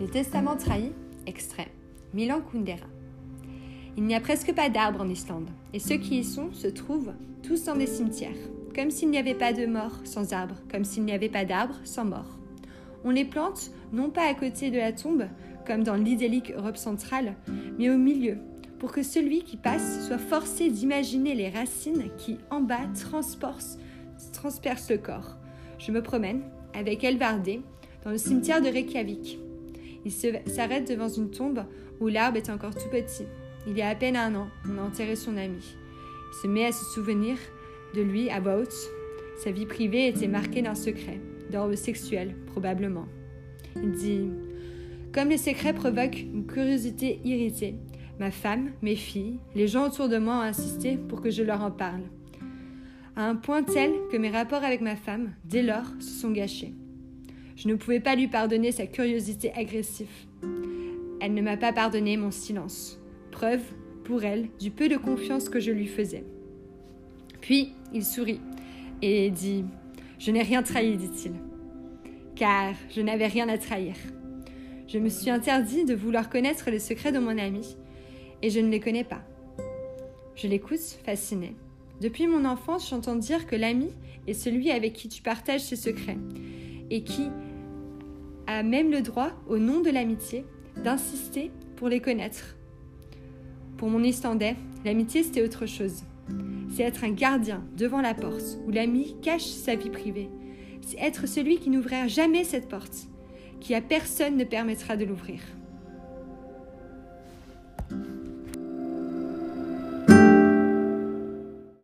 Le testament trahi, extrait, Milan Kundera. Il n'y a presque pas d'arbres en Islande, et ceux qui y sont se trouvent tous dans des cimetières, comme s'il n'y avait pas de mort sans arbre, comme s'il n'y avait pas d'arbre sans mort. On les plante, non pas à côté de la tombe, comme dans l'idyllique Europe centrale, mais au milieu, pour que celui qui passe soit forcé d'imaginer les racines qui, en bas, transpercent le corps. Je me promène, avec Elvardé, dans le cimetière de Reykjavik. Il s'arrête devant une tombe où l'arbre est encore tout petit. Il y a à peine 1 an, on a enterré son ami. Il se met à se souvenir de lui à voix haute. Sa vie privée était marquée d'un secret, d'ordre sexuel, probablement. Il dit « Comme les secrets provoquent une curiosité irritée, ma femme, mes filles, les gens autour de moi ont insisté pour que je leur en parle. À un point tel que mes rapports avec ma femme, dès lors, se sont gâchés. Je ne pouvais pas lui pardonner sa curiosité agressive. Elle ne m'a pas pardonné mon silence. Preuve, pour elle, du peu de confiance que je lui faisais. Puis, il sourit et dit « Je n'ai rien trahi, dit-il, car je n'avais rien à trahir. Je me suis interdit de vouloir connaître les secrets de mon ami, et je ne les connais pas. » Je l'écoute, fascinée. Depuis mon enfance, j'entends dire que l'ami est celui avec qui tu partages ses secrets, et qui a même le droit, au nom de l'amitié, d'insister pour les connaître. Pour mon Islandais, l'amitié c'était autre chose. C'est être un gardien devant la porte où l'ami cache sa vie privée. C'est être celui qui n'ouvrira jamais cette porte, qui à personne ne permettra de l'ouvrir.